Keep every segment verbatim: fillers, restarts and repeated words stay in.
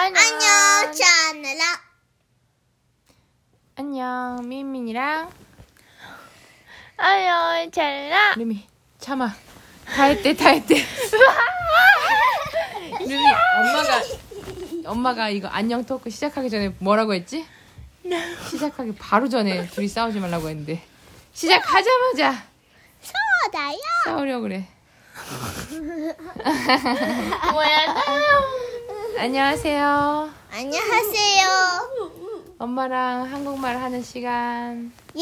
안녕. 안녕 채널아. 안녕 민민이랑 안녕 찰나. 루미 참아. 다 했대 다 했대. 루미 엄마가 엄마가 이거 안녕 토크 시작하기 전에 뭐라고 했지? 시작하기 바로 전에 둘이 싸우지 말라고 했는데 시작하자마자 소다야. 싸우려고 그래. 뭐야? 안녕하세요. 안녕하세요. 엄마랑 한국말 하는 시간. 예.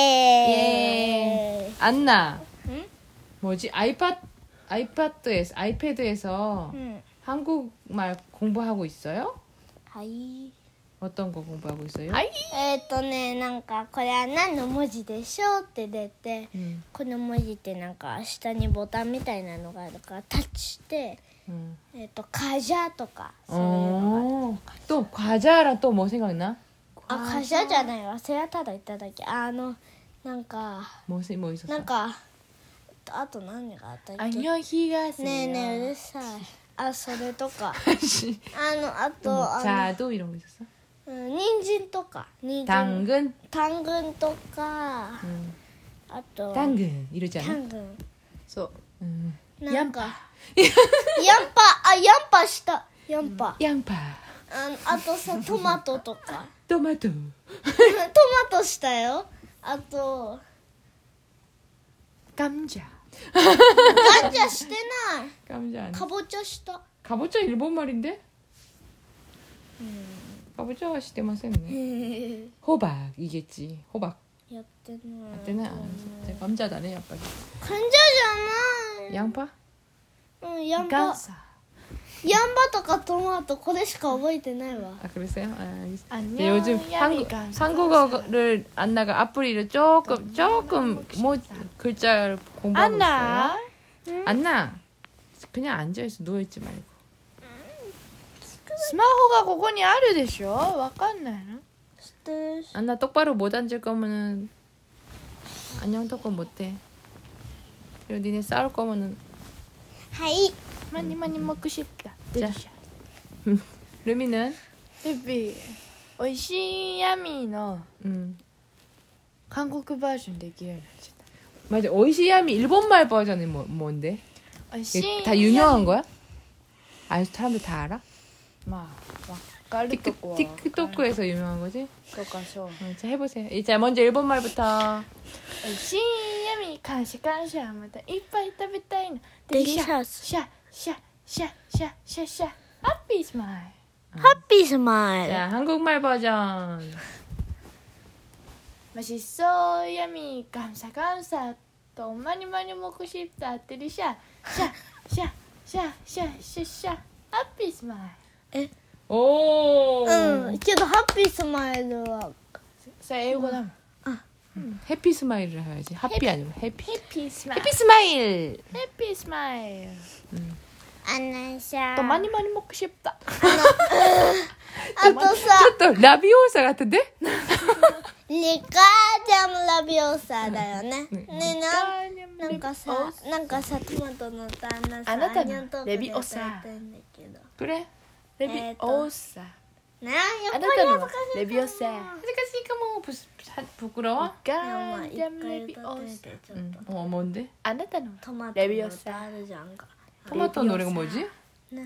예. 안나. 응? 뭐지? 아이팟 아이패드에서 아이패드에서 응. 한국말 공부하고 있어요? はい。 어떤 거 공부하고 있어요? えっとね、なんかこれは何の文字でしょうって出て、 음, この文字ってなんか下にボタンみたいなのがあるからタッチして、 음. えっとカジャとかそういうの 어, 또 과자랑 또 뭐 생각나? がある。あ、カジャじゃないわ。それはただ言っただけ。あのなんか 뭐, 세- 뭐 있었어? なんかあと何があったっけ？ 안녕히가세요. ねえねえうるさい。あ、それとか。 씨. あのあと 뭐, あの 자도 이런 거 있었어? うん人参とか人参 당근? 당근とか 음. あと 당근 이러지 않아? 당근 そう 음. なんかヤンパあヤンパしたヤンパ 양파 あのあとさトマトとか 토마토 トマトしたよあと 감자 ガンジャしてない 감자 아니야? かぼちゃした 가보자 일본 말인데? 가보자가 시대마센네. 호박이겠지. 호박. やってない 맞대나? 진짜 감자다네, 약간. 患者じゃない 양파? うんヤンパ 감사. ヤンパとかトマトこれしか覚えてないわ 아, 그랬어요? 아, 알겠어. 안녕, 네, 요즘 한국, 야미가. 한국어를 안나가 앞부리를 조금, 조금, 뭐, 글자를 공부하고 안나. 있어요. 안나. 그냥 앉아있어. 누워있지 말고. スマホがここにあるでしょわかんないの知ってるし 안나 똑바로 못 앉을 거면은, 안녕 토크 못해. 그리고 니네 싸울 거면은, はい 많이 많이 먹고 싶다. 자. 루미는? 루비, 오이시 야미の 음. 한국 버전 できるようになっちゃっ 맞아. 오이시야미 일본말 버전이 뭐, 뭔데? た。 이게 다 유명한 거야? 아, 사람들 다 알아? まあ、わかる 틱, とこは。 틱톡에서 유명한 거지? とかそう。 어, 자, 해보세요. 자, 먼저 일본말부터. おいしいヤミ感謝感謝またいっぱい食べたいの。 デリシャスシャシャシャシャシャシャハッピースマイル。 ハッピースマイル 자, 한국말 버전. 맛있어 야미 감사 감사 또 많이 많이 먹고 싶다 데리샤 샤샤샤샤샤샤 하ppy 스마일 오. うんけどハッピースマイルは 자英語だもん 해피 스마일을 해야지. 하피 아니고 해피. 해피 스마일 해피 스마일. 해피 스마일 あのさ 또 많이 많이 먹고 싶다 あとさ 또 라비오사 같은데? リカージャムラビオーサーだよねねえななんかさなんかさトマトの旦那さあなたのアニョントークでレビオサ書いてんだけど 그래. 레비 えーと 오사 ねやっぱり 아나타는 恥ずかしい 레비 오사 아직까지니까 뭐 부, 부끄러워? でもまあ一 가잠 回 레비 歌ってみ 오사 てちょっ 응. と 어, 뭔데? 아나타는 トマトレビオサの歌あるじゃんか 토마토 노래가 뭐지? ね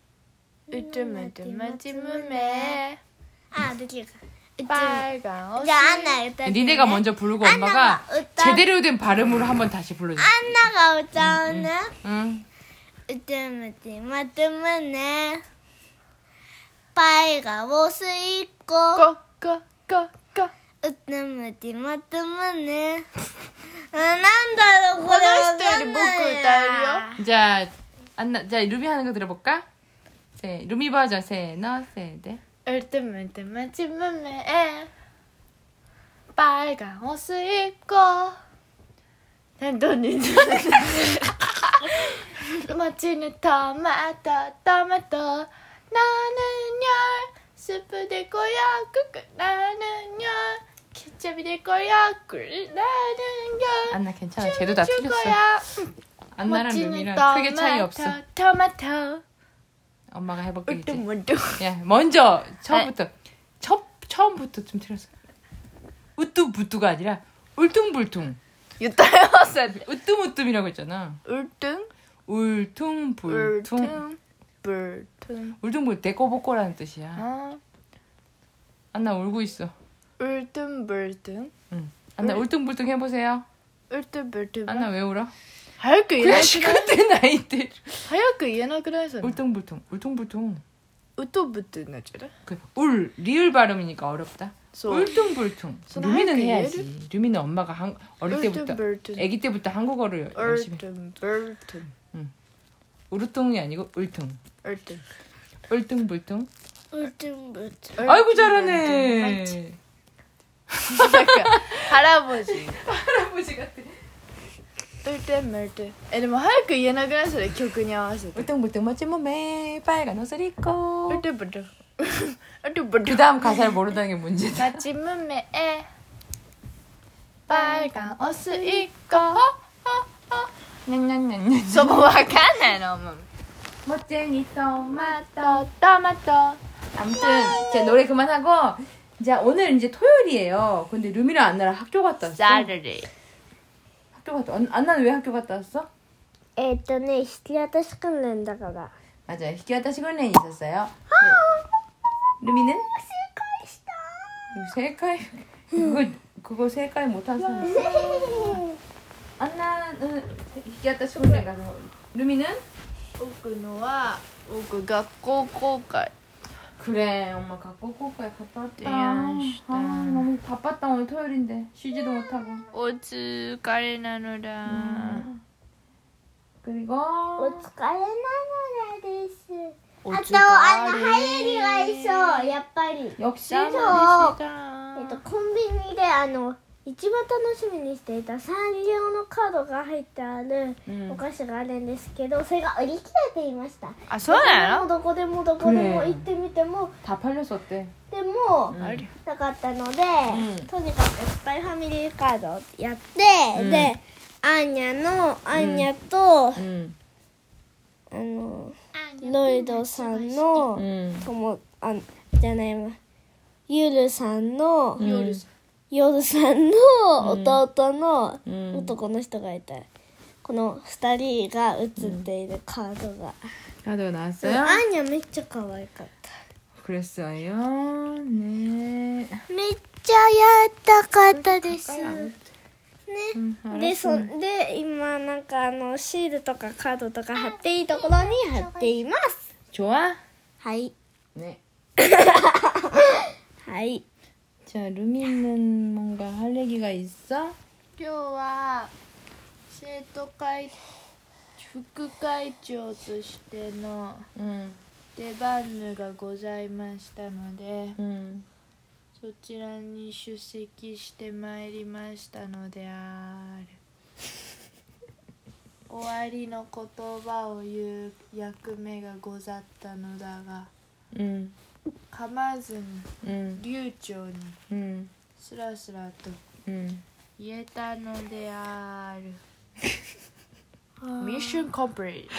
으뜸으뜸마지무메 あできるかじ 빨간 ゃあ 옷을 アンナ歌ってね 니네가 먼저 부르고 엄마가 안나가 웃다. 제대로 된 발음으로 한번 다시 불러줘. アンナが歌うね 응. うつむてまとむねパイがおすいこ 꼬꼬꼬꼬 うつむてまとむねあなんだろうこれわかんないや 자, 안나, 자, 루비 하는 거 들어볼까? 세, 루미 버전 세, 너, 세, 네. 으뜸으뜸마지무메 빨간 옷을 입고 단돈이 멋지는 토마토 토마토 나는요 스프 될 거야 끄끄 나는요 케첩이 될 거야 꿀 나는요 안나 괜찮아. 쟤도 다 줄 틀렸어. 거야 안나랑 멋지는 루미랑 크게 차이 없어. 토마토 엄마가 해볼게. 이제. 울퉁불퉁. 야, 먼저 처음부터 첫 처음부터 좀 틀었어. 우뚜부뚜가 아니라 울퉁불퉁. 유타요. 우뚜무뚜이라고 했잖아. 울퉁. 울퉁불퉁. 울퉁. 불퉁. 울퉁불 데꼬복꼬라는 뜻이야. 아. 안나 울고 있어. 울퉁불퉁. 응. 안나 울- 울퉁불퉁 해보세요. 울퉁불퉁. 안나 왜 울어? 早く言え 그냥 なくない 시끄럽대 나이들. 早く言えなくないそれ 울퉁불퉁, 울퉁불퉁. うとぶってなっちゃう 그 울 리을 발음이니까 어렵다. そう 울퉁불퉁. 손 루미는 하얗게 해야지. 루미는 엄마가 한, 어릴 때부터, 울퉁불퉁. 아기 때부터 한국어를 열심히. 울퉁불퉁. 우르퉁이 아니고 울퉁. 울퉁. 울퉁불퉁. 울퉁불퉁. 아이고 잘하네. 약간 할아버지. 할아버지 같아. 울퉁불퉁. えでも早く言えなくないそれ曲に合わせて 울퉁불퉁 멋진 몸에 빨간 옷을 입고. 울퉁불퉁. 그 울퉁불퉁. 다음 가사를 모른다는 게 문제다. 마침 문매에 빨간 옷을 입고 にゃんにゃんにゃんにゃん。 そこわかんないのもう 멋쟁이 토마토. 토마토 토마토 아무튼 자 노래 그만하고 자 오늘 이제 토요일이에요. 근데 루미랑 안나랑 학교 갔다 왔어. Saturday. 학교 갔다. 안, 안나는 왜 학교 갔다 왔어? えっとね、引き渡し訓練だから。 맞아요. 히키와타시訓練 있었어요. 네. 루미는? 세카이. 그거 그거 세카이 못한 사람. 안나는 히키와타시訓練 가서 루미는? 僕のは僕学校公開 그래 엄마 갖고 꼬꼬에 갔다 왔다. 미안하다. 아 너무 바빴다 오늘 토요일인데 쉬지도 못하고. お疲れなのだ 음. 그리고 お疲れなのです。 おあと、あの、入りが一緒、やっぱり。 역시 そう。 したえっと、コンビニで、あの、一番楽しみにしていたサンリオのカードが入ってあるうんお菓子があるんですけど、それが売り切れていました。 あそうなのどこでもどこでも行ってみても、 다 팔렸었대. でも、 음. あれなかったので、 んとにかくスパイファミリーカードをやって、 うんで、アーニャの、アーニャと、 응. あの、ロイドさんの、 응. とも、あ、じゃないわ、ゆるさんの、 응. 夜さんの弟のうん男の人がいた、このふたりが写っているカードが、 카드가 ア 나왔어요? ーニャめっちゃ可愛かった。 그랬어요. 네. めっちゃやったかったですね。 응, で、そ 알았어. で今なんかあのシールとかカードとか貼っていいところに貼っています。 좋아? はい 네. はい。 자, 루미는 뭔가 할 얘기가 있어? 今日は生徒会副会長としての 응. 出番がございましたので 응. そちらに出席してまいりましたのである終わりの言葉を言う役目がござったのだが 응. 噛まずに 응. 流暢に 응. スラスラと 응. 言えたのであるミッションコンプリート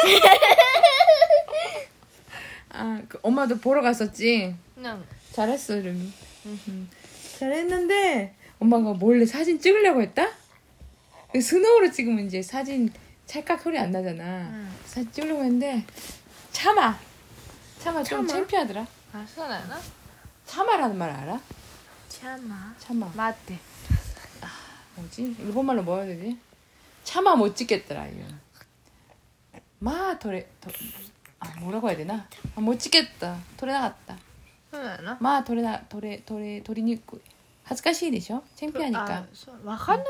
아, 그 엄마도 보러 갔었지? なん 잘했어, 루미. 응. 잘했는데 엄마가 몰래 사진 찍으려고 했다? 그 스노우로 찍으면 이제 사진 찰칵 소리 안 나잖아. 응. 사진 찍으려고 했는데 참아. 참아 좀 참아? 창피하더라. あそうなの 참아라는 말 알아? チャマ 참아. 待って 뭐지? 일본말로 뭐 해야 되지? 참아 못 찍겠더라 이거. 마 도레 도, 아 뭐라고 해야 되나? 아, 못 찍겠다. 도레 나갔다. そうなの 마 도레 나 도레 도레 도리니꾸. 恥ずかしいでしょ? 창피하니까. あそうわかんなくない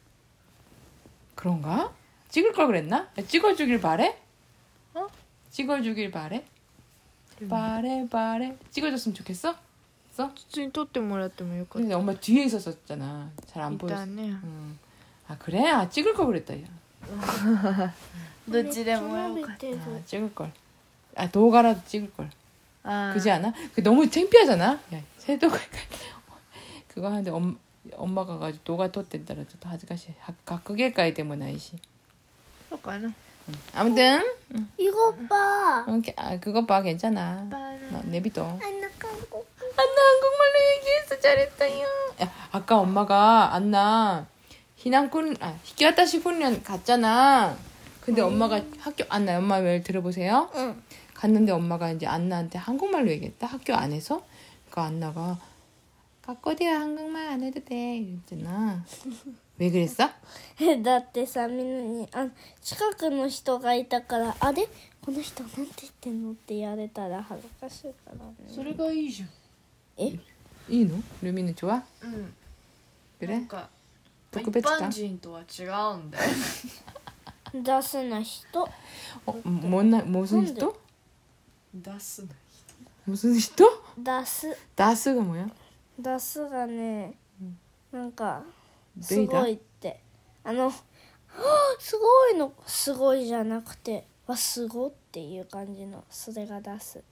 그런가? 찍을 걸 그랬나? 찍어주길 바래? 어? 찍어주길 바래? 바래 바래. 찍어줬으면 좋겠어? 써? 普通に撮ってもらってもよかっ 근데 엄마 뒤에 있었었잖아. 잘 た 안 い 보였어. たね 응. 아 그래? 아 찍을 걸 그랬다. 야. どっちでもよかっ 아, 찍을 걸. 아 도가라도 찍을 걸. た 그지 않아? 그 너무 창피하잖아. 야, 새도가 그거 하는데 엄 엄마가 가지고 도가 텄댄다라 또 하즈가시 각극일까이 때문에 나이시. そうかな 아무튼 이거 봐. 오케이. 아, 그것 봐 괜찮아. 너 내비둬. 안나 한국. 안나 한국말로 얘기했어. 잘했다요. 야, 아까 엄마가 안나 희난군 아 히키와타시 훈련 갔잖아. 근데 엄마가 학교 안나 엄마 말 들어보세요. 응. 갔는데 엄마가 이제 안나한테 한국말로 얘기했다. 학교 안에서. 그러니까 안나가 가꼬디가 한국말 안 해도 돼 이랬잖아. 왜 그랬어? だってさみんなにあ近くの人がいたからあれこの人なんて言ってんのってやれたら恥ずかしいからね。 それがいいじゃん。 え 이노? 루미는 좋아? うん。な 그래? んか一特別か般人とは違うんだよ。 出せない人 어, 뭐나 무슨 뭔데? 人? 出すな。 무슨人? 出す 다스가 뭐야? 出すがねなんかすベイダごいってあのはあすごいのすごいじゃなくてわすごっていう感じのそれが出す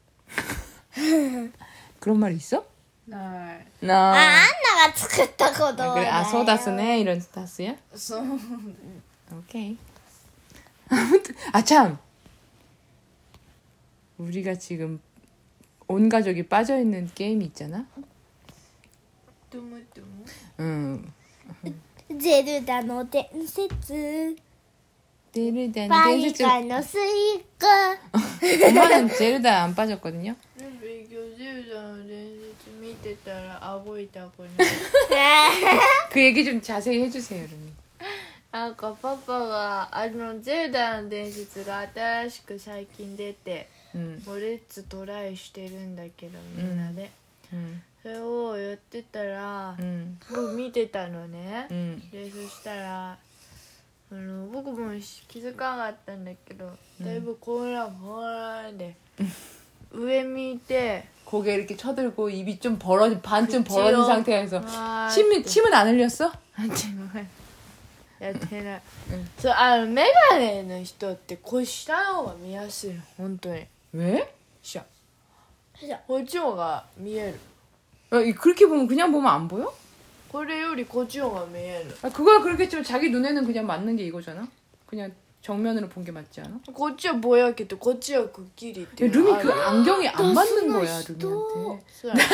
그런 말 있어? ない。 나. ああんなが作ったことだ 아, よ 그래? 아, 소다스네 이런 다스야? そう。 오케이. 아무튼 아 참. 우리가 지금 온 가족이 빠져 있는 게임이 있잖아. トムトム。 응. ゼルダの伝説 데르단 バイ 덴스츠 カのスイカ 엄마는 제르다 안 빠졌거든요. なんで今日ゼルダの伝説見てたら顎痛くなる。 그 얘기 좀 자세히 해주세요, 루미. なんかパパがあのゼルダの伝説が新しく最近出て 응, もうレッツトライしてるんだけどみんなで、 응, それをやってたら、 응, 僕見てたのね、 응. でそしたらあの僕も気づかなかったんだけどだいぶ混乱混乱で上見て 고개 이렇게 쳐들고 입이 좀 벌어진 반쯤 그치요. 벌어진 상태에서 아, 침 침은 안 흘렸어? やってない、 うんそうあのメガネの人ってこう下の方が見やすいの本当に 왜? 下こっちの方が見える 어, 이- 그렇게 보면 그냥 보면 안 보여? これよりこっちの方が見える 아, 그거야 그렇겠지만 자기 눈에는 그냥 맞는 게 이거잖아. 그냥 정면으로 본 게 맞지 않아? こっちはぼやけてこっちはくっきりって 야, いうの 루미 あ 그 る 안경이 안 맞는 거야, 나스나 루미한테. そうやな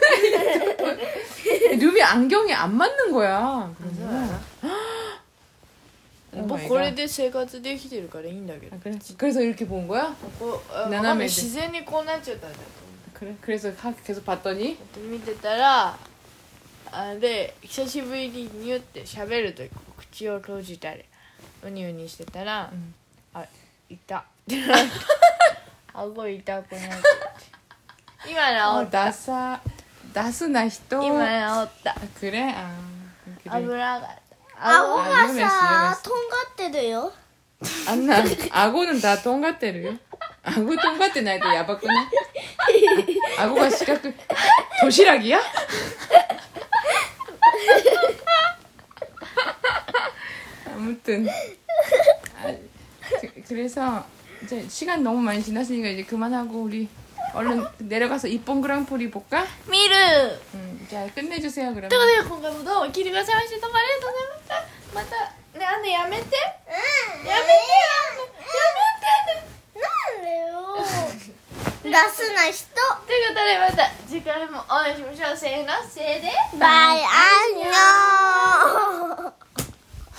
루미 안경이 안 맞는 거야. そうや 그러면. な 오 僕 마이 これ 갓. で生活できてるからいいんだけど 아, 그래? 그래서 이렇게 본 거야? こうあわかんない斜めで自然にこうなっちゃったんだと 그래? 그래서 하- 계속 봤더니 思う見てたらあで久しぶりにニュって喋るとき口を閉じたりウニウニしてたら、 んあいた顎痛くなって今 어, 治った 나사 나스나 히토. 今治った 아, 그래? 아, 危 그래. なかった顎 아, が 위험했어, さ 위험했어. とんがってるよ 안나 아고는 다 통과대로요. 아고 통과대 나이도 야박구나. 아, 아고가 시각 도시락이야? 아무튼 아, 그, 그래서 이제 시간 너무 많이 지났으니까 이제 그만하고 우리 얼른 내려가서 이쁜 그랑프리 볼까? 見る 음, 자 끝내주세요 という 그러면. ことで今回もどうも聞いてくださいましてどうもありがとうございましたまたねあんねやめてうんやめてよなんでよ出すな人ということでまた次回もお会いしましょうせーのせーでバイアンニョン